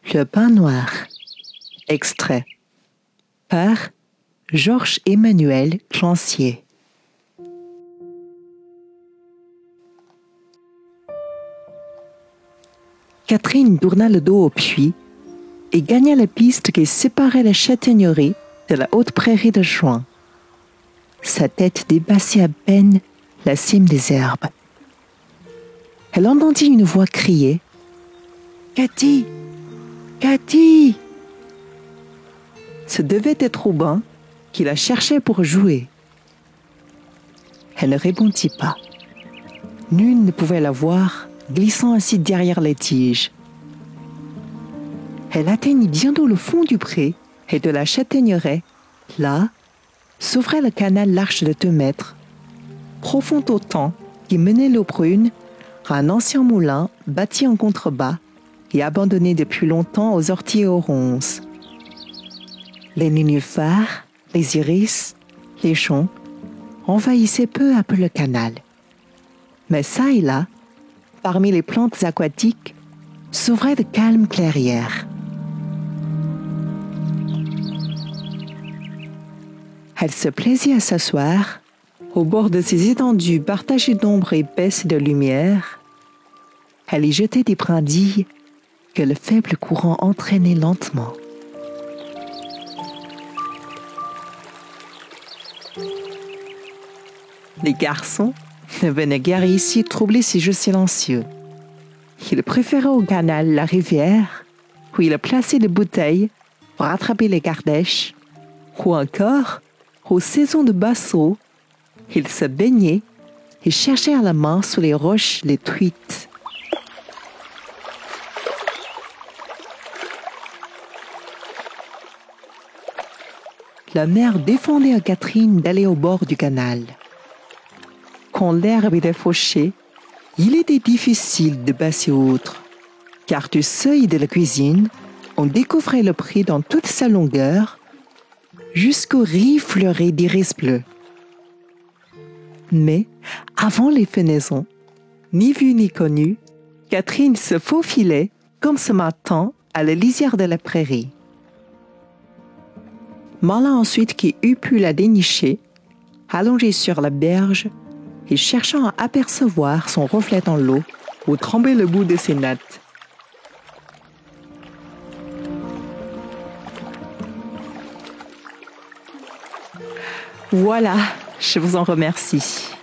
Le pain noir. Extrait. Par Georges-Emmanuel Clancier. Catherine tourna le dos au puits et gagna la piste qui séparait la châtaignerie de la haute prairie de juin. Sa tête dépassait à peine la cime des herbes. Elle entendit une voix crier « Cathy! Cathy !» Ce devait être Aubin qui la cherchait pour jouer. Elle ne répondit pas. Nul ne pouvait la voir, glissant ainsi derrière les tiges. Elle atteignit bientôt le fond du pré et de la châtaigneraie. Là, s'ouvrait le canal large de 2 mètres, profond autant, qui menait l'eau brune à un ancien moulin bâti en contrebas et abandonné depuis longtemps aux orties et aux ronces. Les nénuphars, les iris, les joncs envahissaient peu à peu le canal. Mais çà et là, parmi les plantes aquatiques, s'ouvraient de calmes clairières. Elle se plaisait à s'asseoir au bord de ces étendues partagées d'ombre épaisse et de lumière. Elle y jetait des brindilles que le faible courant entraînait lentement. Les garçons ne venaient guère ici troubler ces jeux silencieux. Ils préféraient au canal la rivière, où ils plaçaient des bouteilles pour attraper les gardèches, ou encore, aux saisons de basseaux, ils se baignaient et cherchaient à la main sous les roches les truites. La mère défendait à Catherine d'aller au bord du canal. Quand l'herbe était fauchée, il était difficile de passer outre, car du seuil de la cuisine, on découvrait le pré dans toute sa longueur, jusqu'aux rives fleuries d'iris bleu. Mais, avant les fenaisons, ni vue ni connue, Catherine se faufilait, comme ce matin, à la lisière de la prairie. Malin ensuite qui eût pu la dénicher, allongée sur la berge, et cherchant à apercevoir son reflet dans l'eau où tremblait le bout de ses nattes. Voilà, je vous en remercie.